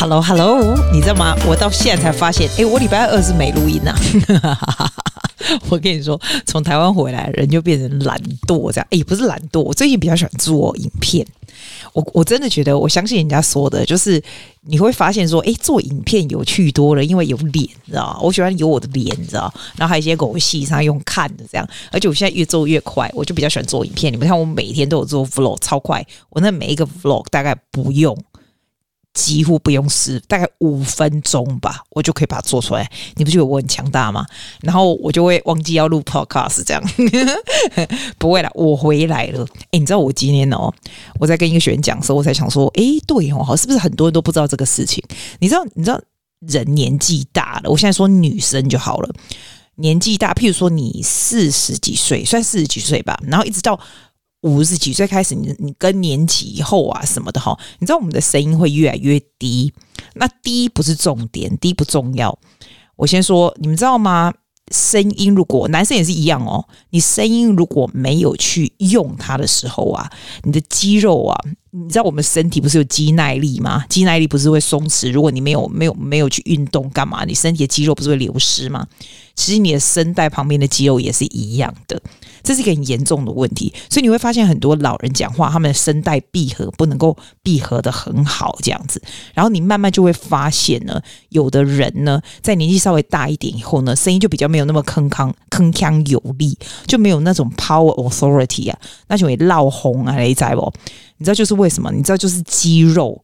Hello， 你知道嗎？我到現在才發現，我禮拜二是沒錄音啊。我跟你說，從台灣回來，人就變成懶惰這樣。不是懶惰，我最近比較喜歡做影片。我真的覺得，我相信人家說的，就是你會發現說，做影片有趣多了，因為有臉，你知道嗎？我喜歡有我的臉，你知道，然後還有一些狗戲上用看的這樣。而且我現在越做越快，我就比較喜歡做影片。你們看，我每天都有做 vlog， 超快。我那每一個 vlog 大概幾乎不用試，大概5分鐘吧，我就可以把它做出來。你不覺得我很強大嗎？然後我就會忘記要錄 podcast 這樣。不會啦，我回來了。你知道我今天我在跟一個學員講的時候，我才想說，對好，是不是很多人都不知道這個事情？你知道人年紀大了，我現在說女生就好了，年紀大，譬如說你40幾歲，算40幾歲吧，然後一直到50幾歲開始，你更年期以後啊什麼的哈，你知道我們的聲音會越來越低。那低不是重點，低不重要。我先說，你們知道嗎？聲音如果男生也是一樣哦，你聲音如果沒有去用它的時候啊，你的肌肉啊，你知道我們身體不是有肌耐力嗎？肌耐力不是會鬆弛？如果你没有去運動幹嘛，你身體的肌肉不是會流失嗎？其實你的聲帶旁邊的肌肉也是一樣的，這是一個很嚴重的問題。所以你會發現很多老人講話，他們的聲帶閉合不能夠閉合得很好，這樣子。然後你慢慢就會發現呢，有的人呢，在年紀稍微大一點以後呢，聲音就比較沒有那麼鏗鏘有力，就沒有那種 power authority 啊，那就會鬧紅啊，你知道不？你知道就是為什麼？你知道就是肌肉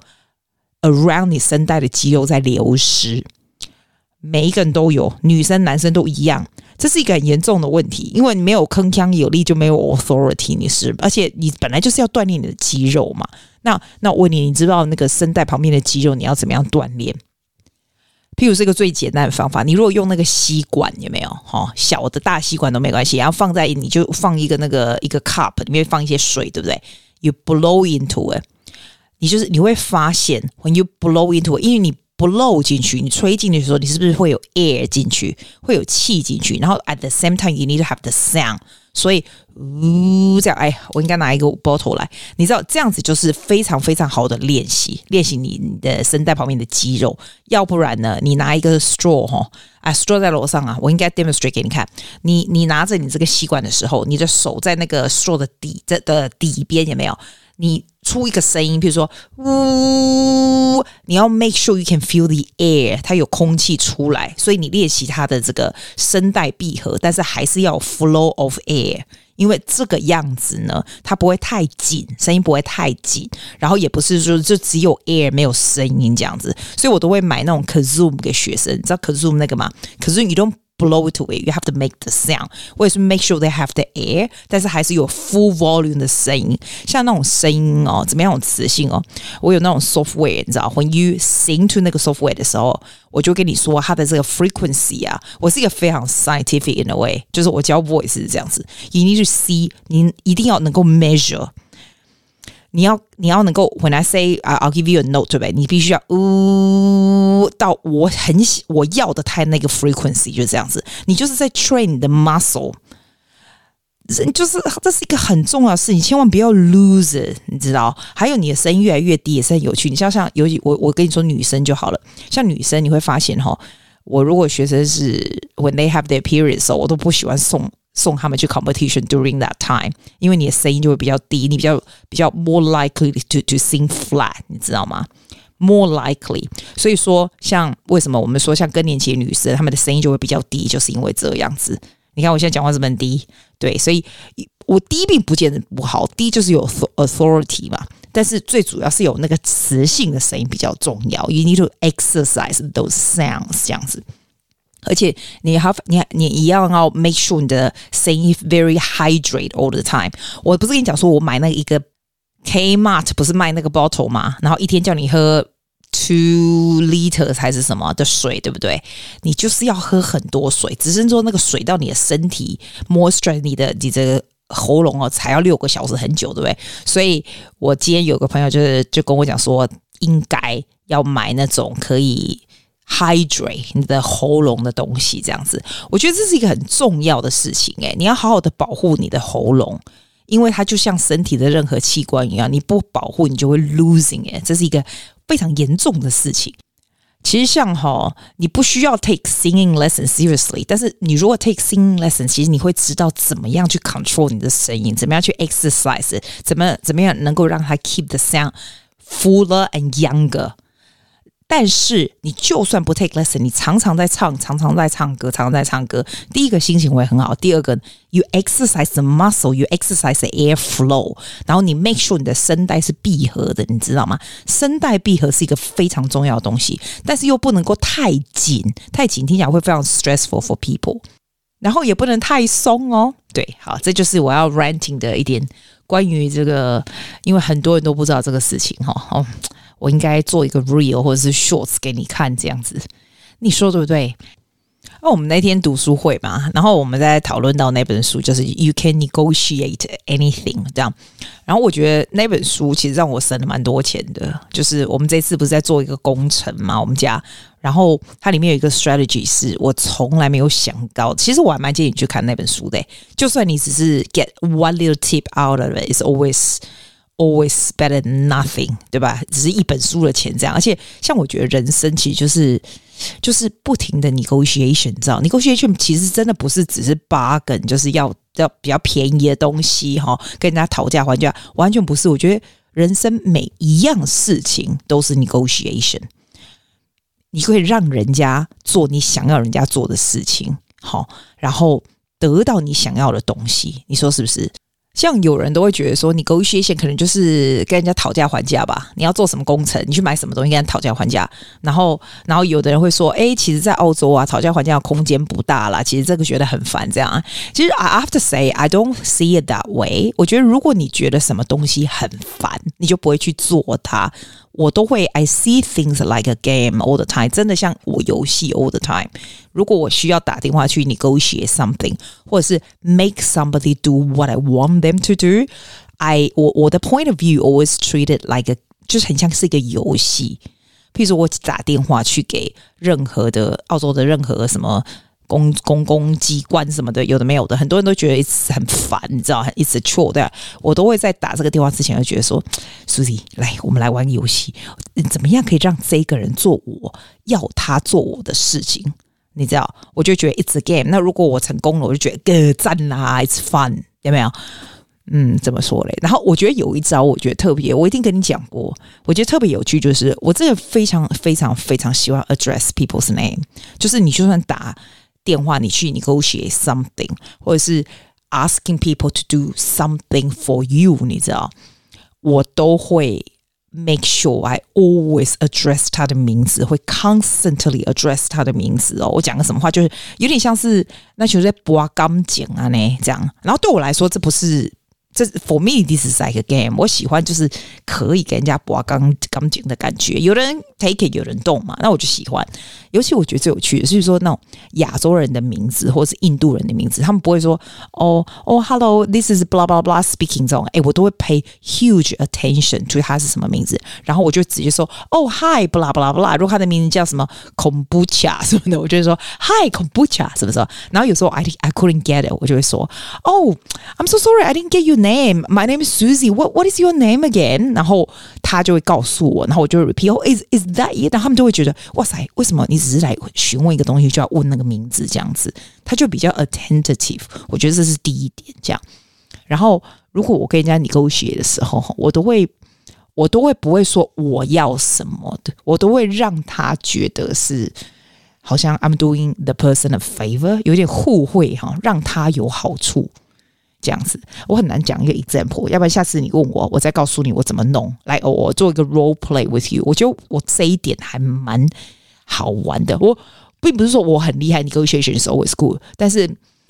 around 你聲帶的肌肉在流失。每一個人都有，女生男生都一樣，這是一個很嚴重的問題，因為你沒有鏗鏘有力就沒有 authority， 而且你本來就是要鍛鍊你的肌肉嘛。那我問你，你知道那個聲帶旁邊的肌肉你要怎麼樣鍛鍊？譬如這個最簡單的方法，你如果用那個吸管，有沒有？小的大吸管都沒關係，然後放在你就放一個cup 裡面放一些水，對不對？ You blow into it， 你會發現 when you blow into it， 因為你blow 進去，你吹進去的時候，你是不是會有 air 進去，會有氣進去？然後 at the same time you need to have the sound， 所以這樣，我應該拿一個 bottle 來，你知道這樣子就是非常非常好的練習你的聲帶旁邊的肌肉。要不然呢，你拿一個 straw straw 在樓上啊，我應該 demonstrate 給你看。你拿着你這個吸管的時候，你的手在那個 straw 的底邊有沒有？你出一個聲音，譬如說嗚，你要 make sure you can feel the air， 它有空氣出來，所以你練習它的這個聲帶閉合，但是還是要 flow of air， 因為這個樣子呢，它不會太緊，聲音不會太緊，然後也不是說就只有 air 沒有聲音這樣子，所以我都會買那種 kazoo 給學生，你知道 kazoo 那個嗎？ kazoo you don't blow it away, you have to make the sound. 我也是 make sure they have the air， 但是還是有 full volume 的聲音。像那種聲音怎麼樣有磁性我有那種 software， 你知道 when you sing to 那個 software 的時候，我就跟你說它的這個 frequency 啊，我是一個非常 scientific in a way， 就是我教 voice 是這樣子 you need to see， 你一定要能夠 measure，你要能夠 when I say I'll give you a note， 对不对？你必須要到我要的它那個 frequency 就是這樣子，你就是在 train 你的 muscle， 就是這是一個很重要的事情，千萬不要 lose it， 你知道？還有你的聲音越來越低也是很有趣，你像尤其我跟你說女生就好了，像女生你會發現我如果學生是 when they have their periods， 我都不喜歡送他們去 competition during that time， 因為你的聲音就會比較低，你比較 more likely to sing flat， 你知道嗎？ more likely， 所以說像為什麼我們說像更年期的女生，她們的聲音就會比較低，就是因為這樣子。你看我現在講話是不是很低？對，所以我低並不見得不好，低就是有 authority 嘛，但是最主要是有那個磁性的聲音比較重要。You need to exercise those sounds 這樣子。而且你一樣要 make sure 你的聲音 very hydrate all the time。我不是跟你講說我買那一個 Kmart 不是賣那個 bottle 嗎？然後一天叫你喝2 liters 還是什麼的水，對不對？你就是要喝很多水，只是說那個水到你的身體 moisture 你的喉嚨才要6個小時，很久，對不對？所以我今天有個朋友就跟我講說，應該要買那種可以hydrate 你的喉嚨的東西，這樣子，我覺得這是一個很重要的事情。你要好好的保護你的喉嚨，因為它就像身體的任何器官一樣，你不保護你就會 losing it， 這是一個非常嚴重的事情。 其實像你不需要 take singing lesson seriously， 但是你如果 take singing lesson， 其實你會知道怎麼樣去 control 你的聲音，怎麼樣去 exercise， 怎麼樣能夠讓它 keep the sound fuller and younger。但是你就算不 take lesson， 你常常在唱歌，第一個心情會很好，第二個 you exercise the muscle， you exercise the air flow， 然後你 make sure 你的聲帶是閉合的，你知道嗎？聲帶閉合是一個非常重要的東西，但是又不能夠太緊聽起來會非常 stressful for people， 然後也不能太鬆哦。對，好，這就是我要 ranting 的一點關於這個，因為很多人都不知道這個事情我應該做一個 reel 或者是 shorts 給你看，這樣子，你說對不對？我們那天讀書會嘛，然後我們在討論到那本書，就是 You Can Negotiate Anything 這樣。然後我覺得那本書其實讓我省了蠻多錢的，就是我們這次不是在做一個工程嘛，我們家，然後它裡面有一個 strategy 是我從來沒有想到，其實我還蠻建議你去看那本書的，就算你只是 get one little tip out of it, it's always better than nothing， 对吧？只是一本書的錢這樣，而且像我觉得人生其實就是不停的 negotiation， 你知道 negotiation 其實真的不是只是 bargain， 就是要比較便宜的東西跟人家討價還價，完全不是。我覺得人生每一樣事情都是 negotiation， 你可以讓人家做你想要人家做的事情，然後得到你想要的東西，你說是不是？像有人都会覺得說 negotiation 可能就是跟人家討價還價吧，你要做什麼工程，你去買什麼東西跟人家討價還價，然後有的人會說其實在澳洲啊討價還價的空間不大啦，其實這個覺得很煩這樣。其實 I have to say I don't see it that way， 我覺得如果你覺得什麼東西很煩，你就不會去做它。我都會 I see things like a game all the time， 真的像我遊戲 all the time。如果我需要打電話去 negotiate something， 或者是 make somebody do what I want them to do， 我的 point of view always treat it like a， 就是很像是一個遊戲。譬如說我打電話去給任何的澳洲的任何什麼公共機關什麼的，有的沒有的，很多人都覺得 it's 很煩，你知道 it's a chore， 對吧？我都會在打這個電話之前就覺得說 Susie， 來我們來玩個遊戲，怎麼樣可以讓這個人做我要他做我的事情，你知道，我就覺得 it's a game。 那如果我成功了，我就覺得讚啦 it's fun， 有沒有？怎麼說嘞？然後我覺得有一招我覺得特別，我一定跟你講過，我覺得特別有趣，就是我真的非常非常非常喜歡 address people's name， 就是你就算打電話你去 negotiate something， 或者是 asking people to do something for you， 你知道，我都會 make sure I always address 他的名字，會 constantly address 他的名字我講個什麼話，就是有點像是那就是在拔鋼剪啊呢這樣。然後對我來說，這不是。For me, this is like a game。 我喜歡就是可以給人家拔鋼剪的感覺，有人 take it， 有人動嘛，那我就喜歡。尤其我覺得最有趣的是說那種亞洲人的名字或是印度人的名字，他們不會說hello this is blah blah blah speaking 這種，我都會 pay huge attention to 他是什麼名字，然後我就直接說hi blah blah blah。如果他的名字叫什麼 kombucha 什麼的，我就會說 hi kombucha 什麼什麼。然後有時候 I couldn't get it， 我就會說I'm so sorry I didn't get your name. My name is Susie. What is your name again? 然後他就會告訴我，然後我就 repeat is that it? 然後他們就會覺得哇塞，為什麼你只是來詢問一個東西就要問那個名字這樣子？他就比較 attentive。我覺得這是第一點這樣。然後如果我跟人家 negotiate 的時候，我都會不會說我要什麼的，我都會讓他覺得是好像 I'm doing the person a favor， 有點互惠讓他有好處。這樣子，我很難講一個 example， 要不然下次你問我，我再告訴你我怎麼弄。來，我做一個 role play with you。我覺得我這一點還蠻好玩的。我並不是說我很厲害 ，negotiation is always good， 但是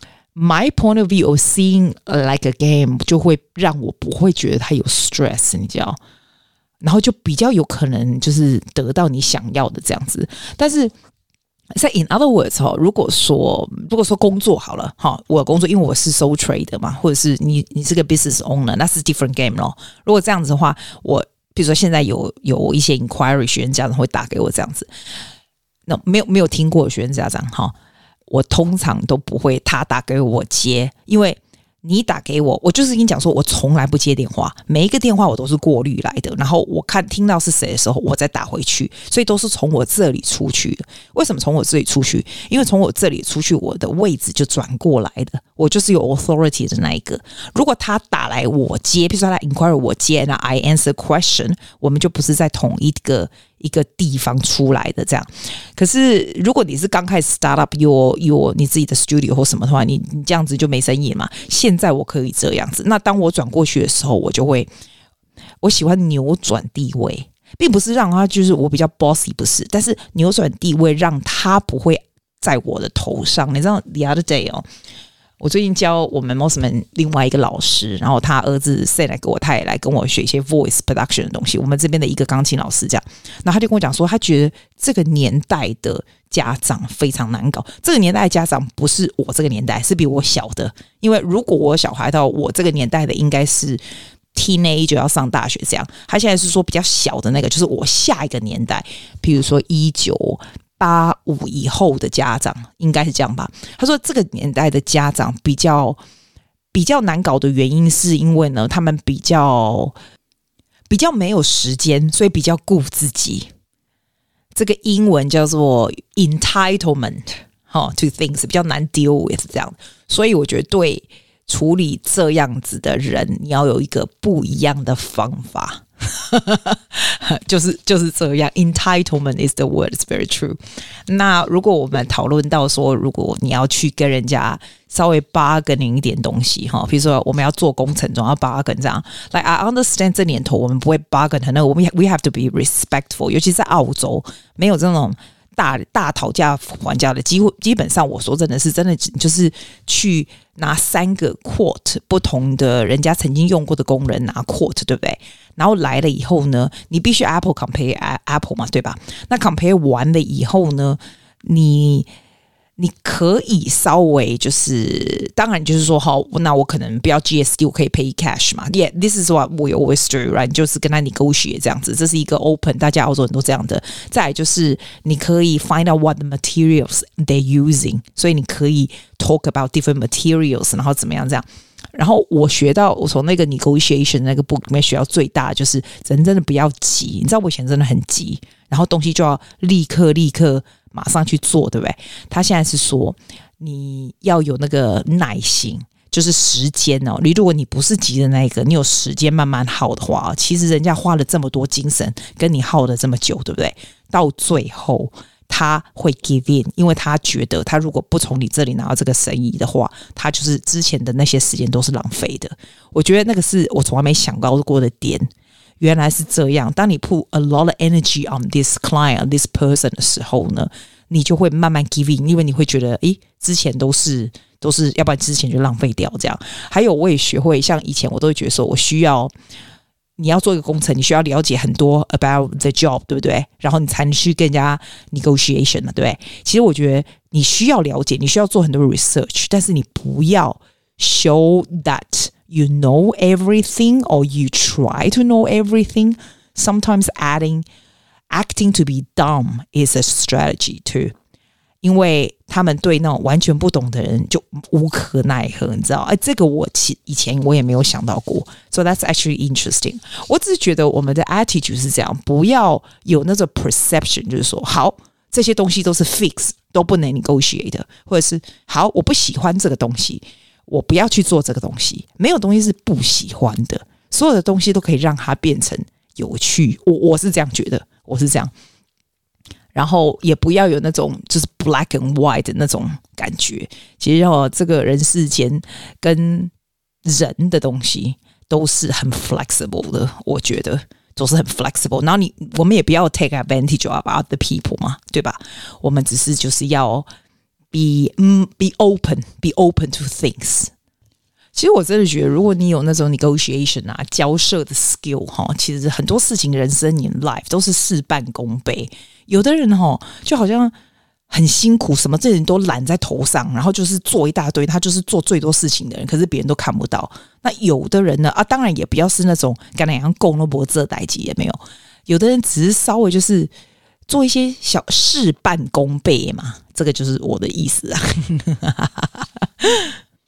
my point of view of seeing like a game 就會讓我不會覺得它有 stress， 你知道，然後就比較有可能就是得到你想要的這樣子，但是。In other words， 如果說工作好了，我有工作，因為我是 sole trader 嘛，或者是你是個 business owner， 那是 different game 咯。如果這樣子的話，我比如說現在有一些 inquiry 學生家長會打給我這樣子，那沒有聽過的學生家長我通常都不會他打給我接，因為你打給我，我就是跟你講說，我從來不接電話，每一個電話我都是過濾來的，然後我聽到是誰的時候，我再打回去，所以都是從我這裡出去的。為什麼從我這裡出去？因為從我這裡出去，我的位置就轉過來的，我就是有 authority 的那一個。如果他打來我接，比如說他 inquire 我接，那 I answer question， 我們就不是在同一個地方出來的這樣。可是如果你是剛開始 start up your 你自己的 studio 或什麼的話，你這樣子就沒生意嘛。現在我可以這樣子，那當我轉過去的時候，我喜歡扭轉地位，並不是讓他就是我比較 bossy， 不是，但是扭轉地位讓他不會在我的頭上。你知道 the other day 我最近教我們 Mosman 另外一個老師，然後他兒子 send 來給我，他也來跟我學一些 voice production 的東西。我們這邊的一個鋼琴老師這樣，然後他就跟我講說，他覺得這個年代的家長非常難搞。這個年代的家長不是我這個年代，是比我小的。因為如果我小孩到我這個年代的，應該是 teenager 要上大學這樣。他現在是說比較小的那個，就是我下一個年代，比如說1985以後的家長，應該是這樣吧。他說這個年代的家長比較難搞的原因是因為呢，他們比較沒有時間，所以比較顧自己。這個英文叫做 entitlement to things， 比較難 deal with 這樣。所以我覺得對處理這樣子的人，你要有一個不一樣的方法。就是這樣 ，entitlement is the word, it's very true。那如果我們討論到說，如果你要去跟人家稍微 bargaining 一點東西哈，比如說我們要做工程，總要 bargain 這樣。Like I understand 這年頭我們不會 bargain 很那，我們 we have to be respectful， 尤其在澳洲沒有這種大討價還價的，基本上我說真的就是去拿3個 quote 不同的人家曾經用過的工人拿 quote， 對不对？然後來了以後呢，你必須 Apple compare Apple 嘛，对吧？那 compare 完了以後呢，你可以稍微就是當然就是說好，那我可能不要 GST， 我可以 pay cash 嘛。Yeah, this is what we always do, right？ 就是跟他 negotiate 這樣子，這是一個 open， 大家澳洲人都這樣的。再來就是你可以 find out what the materials they're using， 所以你可以 talk about different materials， 然後怎麼樣這樣。然後我從那個 negotiation 那個 book 裡面學到最大的就是人真的不要急，你知道我以前真的很急，然後東西就要立刻馬上去做，對不對？他現在是說你要有那個耐心，就是時間哦。如果你不是急的那一个，你有時間慢慢耗的話，其實人家花了這麼多精神跟你耗了這麼久，對不對？到最後他會 give in， 因為他覺得他如果不從你這裡拿到這個生意的話，他就是之前的那些時間都是浪費的。我覺得那個是我從來沒想到過的點，原來是這樣。當你 put a lot of energy on this client, this person 的時候呢，你就會慢慢 give in， 因為你會覺得，之前都是，要不然之前就浪費掉這樣。還有我也學會，像以前我都會覺得說，你要做一個工程，你需要了解很多 about the job， 對不對？然後你才能去跟人家 negotiation 嘛，對不對？其實我覺得你需要了解，你需要做很多 research， 但是你不要 show that you know everything or you try to know everything. Sometimes acting to be dumb is a strategy too. 因為他們對那種完全不懂的人就無可奈何，你知道？這個以前我也沒有想到過。So that's actually interesting. 我只是覺得我們的 attitude 是這樣，不要有那種 perception， 就是說，好，這些東西都是 fix， 都不能 negotiate 的，或者是好，我不喜歡這個東西，我不要去做這個東西。沒有東西是不喜歡的，所有的東西都可以讓它變成有趣。我是這樣覺得，我是這樣。然後也不要有那種就是 black and white 的那種感覺。其實這個人世間跟人的東西都是很 flexible 的，我覺得都是很 flexible。然後我們也不要 take advantage of other people 嘛，對吧？我們只是就是要 be open to things。其實我真的覺得，如果你有那種 negotiation 啊、交涉的 skill 其實很多事情人生 in life 都是事半功倍。有的人就好像很辛苦，什麼这人都攬在頭上，然後就是做一大堆，他就是做最多事情的人，可是別人都看不到。那有的人呢當然也不要是那種跟人家共都不這代誌也沒有。有的人只是稍微就是做一些小事半功倍嘛，這個就是我的意思啊。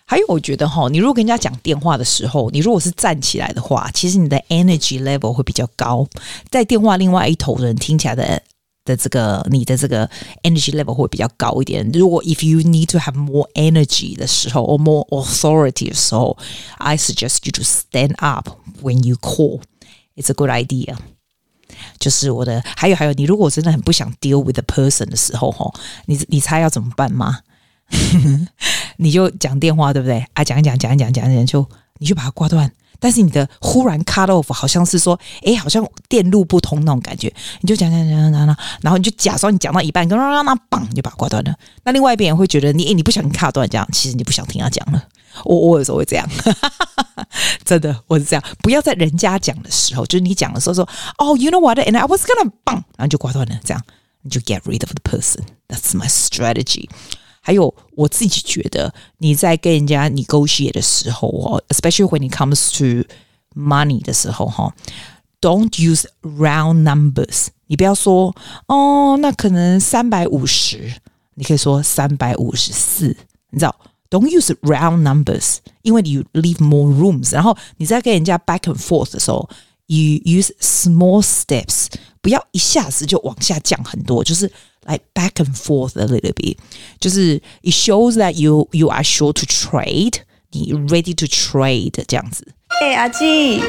還有我覺得你如果跟人家講電話的時候，你如果是站起來的話，其實你的 energy level 會比較高，在電話另外一頭的人聽起來的你的這個 energy level 會比較高一點。如果 if you need to have more energy 的時候 or more authority 的時候， I suggest you to stand up when you call. It's a good idea. 就是我的还有你如果真的很不想 deal with the person 的時候，你猜要怎麼辦嗎？你就講電話，對不對啊？講就你就把它掛斷。但是你的忽然 cut off 好像是說，好像電路不通那種感覺，你就講，然後你就假裝你講到一半，那砰你就把它掛斷了。那另外一邊人會覺得你不小心 cut 斷這樣，其實你不想聽他講了。我有時候會這樣，真的我是這樣。不要在人家講的時候，就是你講的時候說you know what and I was gonna 砰，然後就掛斷了，這樣你就 get rid of the person. That's my strategy. 還有我自己覺得你在跟人家 negotiate 的時候especially when it comes to money 的時候don't use round numbers. 你不要說那可能350，你可以說354，你知道，don't use round numbers， 因為 you leave more rooms。 然後你在跟人家 back and forth 的時候 you use small steps， 不要一下子就往下降很多，就是like back and forth a little bit， 就是 it shows that you are sure to trade， 你 ready to trade 這樣子。 阿季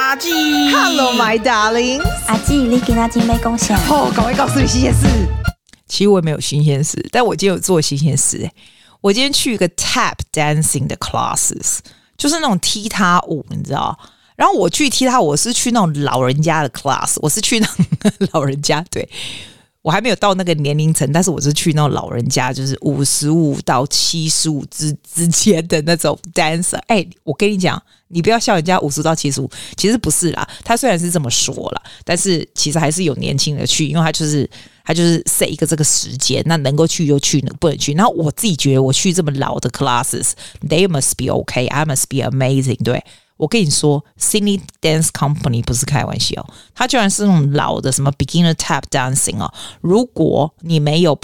Hello my darling， 阿季你今天沒貢獻趕快告訴你新鮮事。其實我也沒有新鮮事，但我今天有做新鮮事。我今天去一個 tap dancing 的 classes， 就是那種踢踏舞，你知道。然後我去踢踏舞，我是去那種老人家的 class， 我是去那種老人家，对，我還沒有到那個年齡層，但是我是去那種老人家，就是55到75之間的那種 dancer。我跟你講，你不要笑人家50到75，其實不是啦。他雖然是這麼說啦，但是其實還是有年輕人去，因為他就是 set 一個這個時間，那能夠去就去，不能去。然後我自己覺得我去這麼老的 classes， they must be okay, I must be amazing， 对。我跟你說 Sydney Dance Company 不是開玩笑，它居然是那種老的什麼 beginner tap dancing 如果你沒有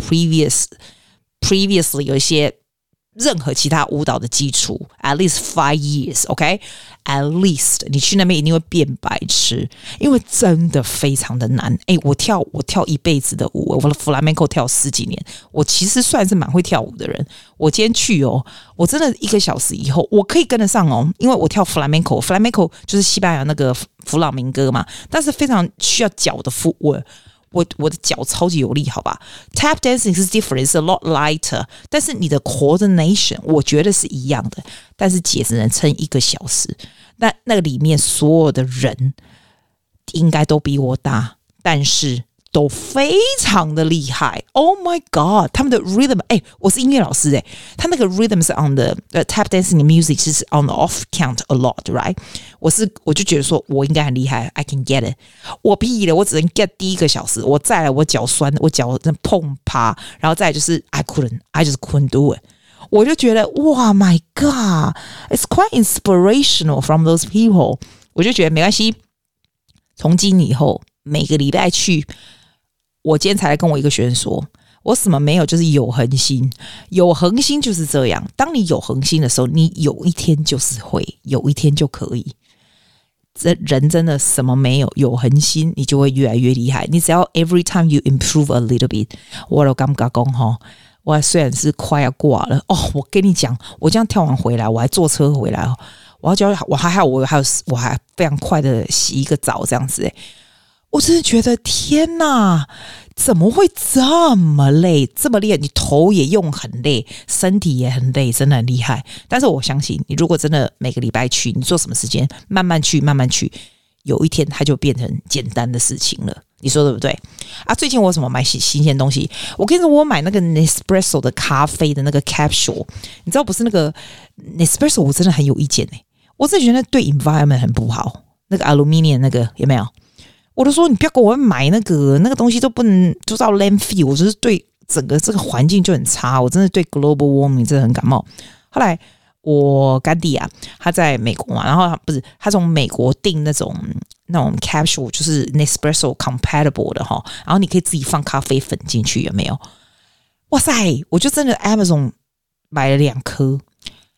previously 有一些任何其他舞蹈的基礎 at least 5 years OK at least 你去那邊一定會變白痴，因為真的非常的難。我跳一輩子的舞，我的 flamenco 跳10幾年，我其實算是蠻會跳舞的人。我今天去我真的1個小時以後我可以跟得上因為我跳 flamenco 就是西班牙那個弗朗明哥嘛，但是非常需要腳的footwork。我的腳超級有力，好吧 ？Tap dancing 是 different, it's a lot lighter， 但是你的 coordination 我覺得是一樣的，但是姐只能撐1個小時。那個裡面所有的人應該都比我大，但是都非常的厲害 ，Oh my God！ 他們的 rhythm， 我是音樂老師他那個 rhythm 是 on the tap dancing music 是 on the off count a lot，right？ 我就覺得說我應該很厲害 ，I can get it。我屁了，我只能 get 第1個小時，我再來我腳酸，我腳碰趴，然後再來就是 I just couldn't do it。我就覺得哇 ，My God，it's quite inspirational from those people。我就覺得沒關係，從今以後每個禮拜去。我今天才來跟我一個學生說，我什麼沒有，就是有恆心。有恆心就是這樣，當你有恆心的時候，你有一天就是會，有一天就可以。人真的什麼沒有，有恆心你就會越來越厲害。你只要 every time you improve a little bit， 我都感覺說我雖然是快要掛了我跟你講，我這樣跳完回來，我還坐車回來我還非常快的洗一個澡這樣子我真的覺得天哪，怎麼會這麼累，這麼厲害？你頭也用很累，身體也很累，真的很厲害。但是我相信你如果真的每個禮拜去，你做什麼時間慢慢去，有一天它就變成簡單的事情了。你說對不對啊？最近我有什麼買新鮮東西？我跟你說，我買那個 Nespresso 的咖啡的那個 capsule， 你知道不是那個 Nespresso， 我真的很有意見我真的觉得對 environment 很不好，那個 aluminium 那個有沒有？我都說你不要給我買那個東西都不能做到 landfill， 我就是對整個這個環境就很差，我真的對 global warming 真的很感冒。後來我乾弟他在美國嘛，然後他從美國訂那種 capsule， 就是 Nespresso compatible 的然後你可以自己放咖啡粉進去，有沒有？哇塞，我就真的 Amazon 買了2顆。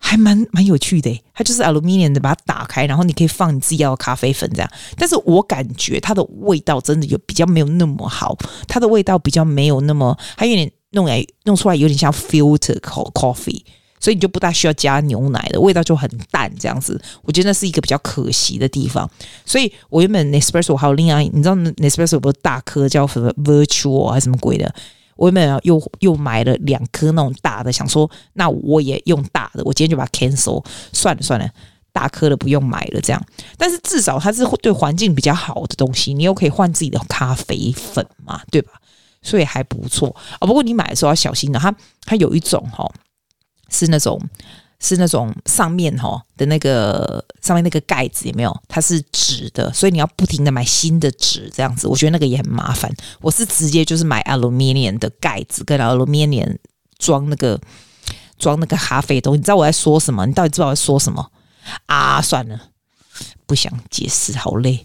還蠻有趣的，它就是 aluminium 的，把它打開，然後你可以放你自己要的咖啡粉這樣。但是我感覺它的味道真的有比较沒有那麼好，它的味道比較沒有那麼，它有點弄出來有點像 filter coffee， 所以你就不大需要加牛奶的，味道就很淡這樣子。我覺得那是一個比較可惜的地方。所以我原本 Nespresso 還有另外，你知道 Nespresso 有不是大顆叫什麼 Virtual 還是什麼鬼的？我原本又買了2顆那種大的，想說那我也用大的，我今天就把它 cancel， 算了，大顆的不用買了這樣。但是至少它是對環境比較好的東西，你又可以換自己的咖啡粉嘛，對吧？所以還不錯哦。不過你買的時候要小心的，它有一種是那種上面的那個上面那个蓋子有沒有？它是紙的，所以你要不停的買新的紙这樣子。我覺得那個也很麻煩。我是直接就是買 aluminium 的蓋子跟 aluminium 裝那個咖啡的東西。你知道我在說什麼？你到底知道我在說什麼啊？算了，不想解釋，好累。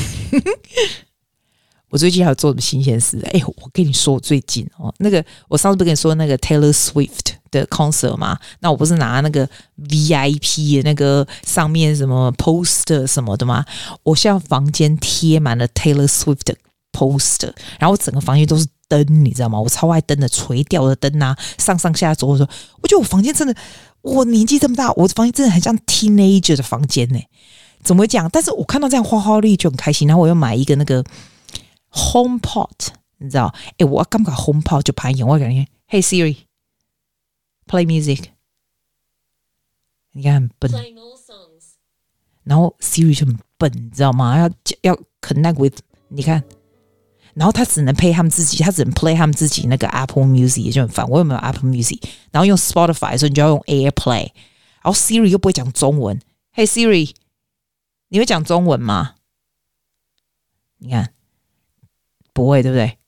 我最近還有做什麼新鮮事？我跟你說，我最近那個我上次不是跟你說那個 Taylor Swift 的 concert 嗎？那我不是拿那個 VIP 的那個上面什麼 poster 什麼的嗎？我現在房間貼滿了 Taylor Swift 的 poster， 然後整個房間都是燈，你知道嗎？我超愛燈的，垂吊的燈啊，上下左右。我覺得我房間真的，我年紀這麼大，我的房间真的很像 teenager 的房間呢。怎麼會這樣？但是我看到這樣花花綠綠就很開心。然後我又買一個那個 HomePod， 你知道？我感覺 HomePod 就拍影，我感覺 Hey Siri。Play music， 你看很笨，然後 Siri 就很笨，你知道嗎？要 connect with， 你看，然後他只能 play 他們自己，他只能 play 他們自己那個 Apple Music， 也就很煩。我有沒有 Apple Music？ 然後用 Spotify 的時候，你就要用 AirPlay， 然後 Siri 又不會講中文。Hey Siri， 你會講中文嗎？你看，不會，對不對？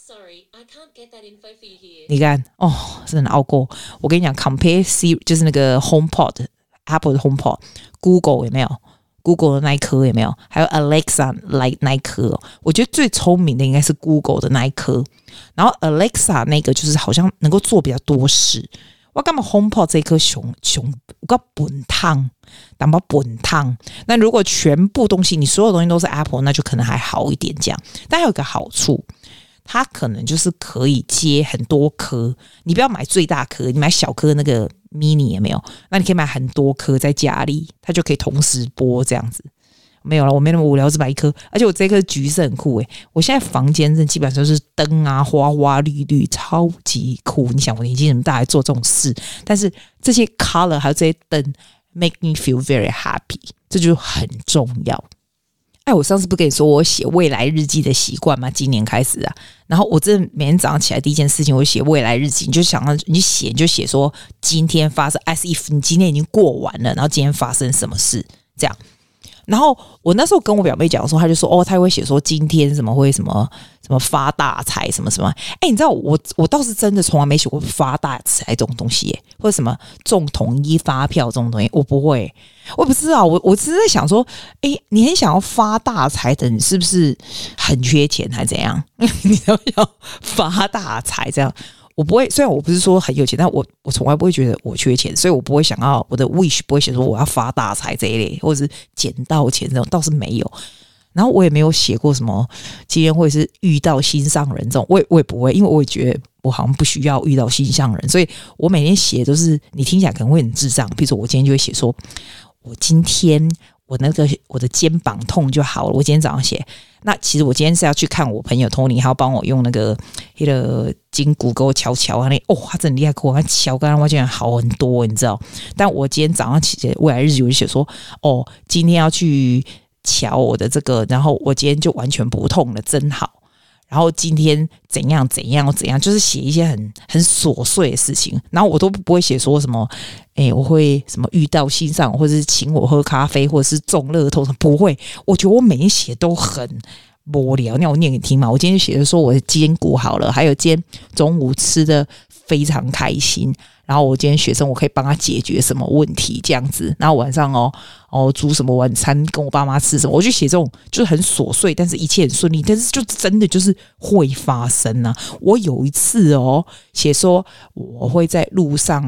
你看真的熬過。我跟你講 ，compare Siri 就是那個 HomePod Apple 的 HomePod， Google 有沒有 ？Google 的那一顆有沒有？還有 Alexa 那一顆，我覺得最聰明的應該是 Google 的那一顆。然後 Alexa 那個就是好像能夠做比較多事。我幹嘛 HomePod 這一顆熊我本燙，đảm保本燙。那如果全部東西你所有東西都是 Apple， 那就可能還好一點這樣。但還有一個好處。它可能就是可以接很多顆，你不要買最大顆，你買小顆那個 mini 也沒有，那你可以買很多顆在家裡，它就可以同時播這樣子。沒有了，我沒那麼無聊，只買一顆，而且我這顆橘色很酷誒。我現在房間基本上就是燈啊，花花綠綠，超級酷。你想我年紀這麼大還做這種事，但是這些 color 還有這些燈 make me feel very happy， 這就很重要。我上次不跟你說我寫未來日記的習慣嗎？今年開始啊，然後我真的每天早上起來第一件事情，我就寫未來日記。你就想到你就寫說今天發生 as if 你今天已經過完了，然後今天發生什麼事這樣。然後我那時候跟我表妹講的時候，她就說她會寫說今天什麼會什麼發大財什麼什麼。你知道我倒是真的從來沒寫過發大財這種東西耶，或者什麼中統一發票這種東西，我不會。我不知道，我只是在想說，你很想要發大財的，你是不是很缺錢還是怎樣？你要發大財這樣，我不會。雖然我不是說很有錢，但我從來不會覺得我缺錢，所以我不會想要我的 wish 不會寫說我要發大財這一類，或者是撿到錢這種，倒是沒有。然後我也沒有寫過什麼今天會是遇到心上人這種，我也不會，因為我也覺得我好像不需要遇到心上人，所以我每天寫都是你聽起來可能會很智障。比如說我今天就會寫說，我今天我的肩膀痛就好了。我今天早上寫，那其實我今天是要去看我朋友 Tony， 他要幫我用那個筋骨給我敲他真的厲害，給我敲，剛剛我竟然好很多，你知道？但我今天早上起未來日記我就寫說，今天要去瞧我的這個，然後我今天就完全不痛了，真好。然後今天怎樣，就是寫一些很瑣碎的事情，然後我都不會寫說什麼，我會什麼遇到心上，或者是請我喝咖啡，或者是中樂透，不會。我覺得我每天寫都很無聊，那我念給你聽嘛。我今天寫的說我的肩骨好了，還有今天中午吃的非常開心。然後我今天學生我可以幫他解決什麼問題這樣子，然後晚上煮什麼晚餐跟我爸媽吃什麼，我就寫這種就是很瑣碎，但是一切很順利，但是就真的就是會發生啊。我有一次寫說我會在路上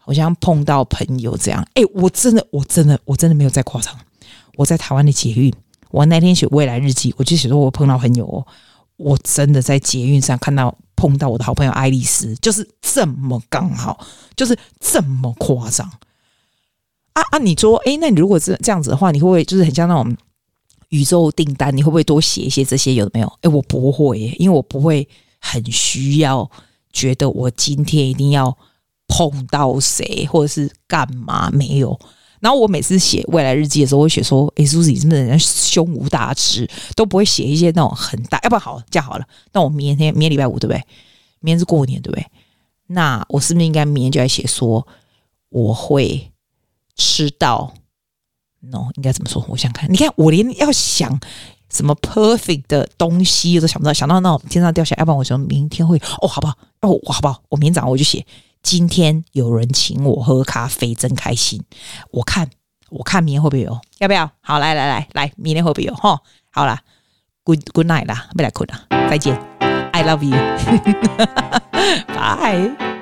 好像碰到朋友這樣。我真的沒有在誇張。我在台灣的捷運，我那天寫未來日記，我就寫說我碰到朋友哦，我真的在捷運上碰到我的好朋友愛麗絲，就是這麼剛好，就是這麼誇張啊！你說，那你如果是這樣子的話，你會不會就是很像那種宇宙訂單？你會不會多寫一些這些？有沒有？我不會耶，因為我不會很需要覺得我今天一定要碰到誰或者是幹嘛，沒有。然後我每次寫未來日記的時候，我會寫說：“Suzy 真的人家胸無大志，都不會寫一些那種很大。要不然好這樣好了，那我明天禮拜五對不對？明天是過年對不對？那我是不是應該明天就來寫說我會吃到 ？No， 應該怎麼說？我想看，你看我連要想什麼 perfect 的東西都想不到，想到那種天上掉下來，要不然我說明天會好不好？好不好？我明天早上我就寫。”今天有人請我喝咖啡，真開心。我看明天會不會有？要不要？好，來，明天會不會有？齁，好啦 ，good night 啦，不來困啦，再見 ，I love you，拜。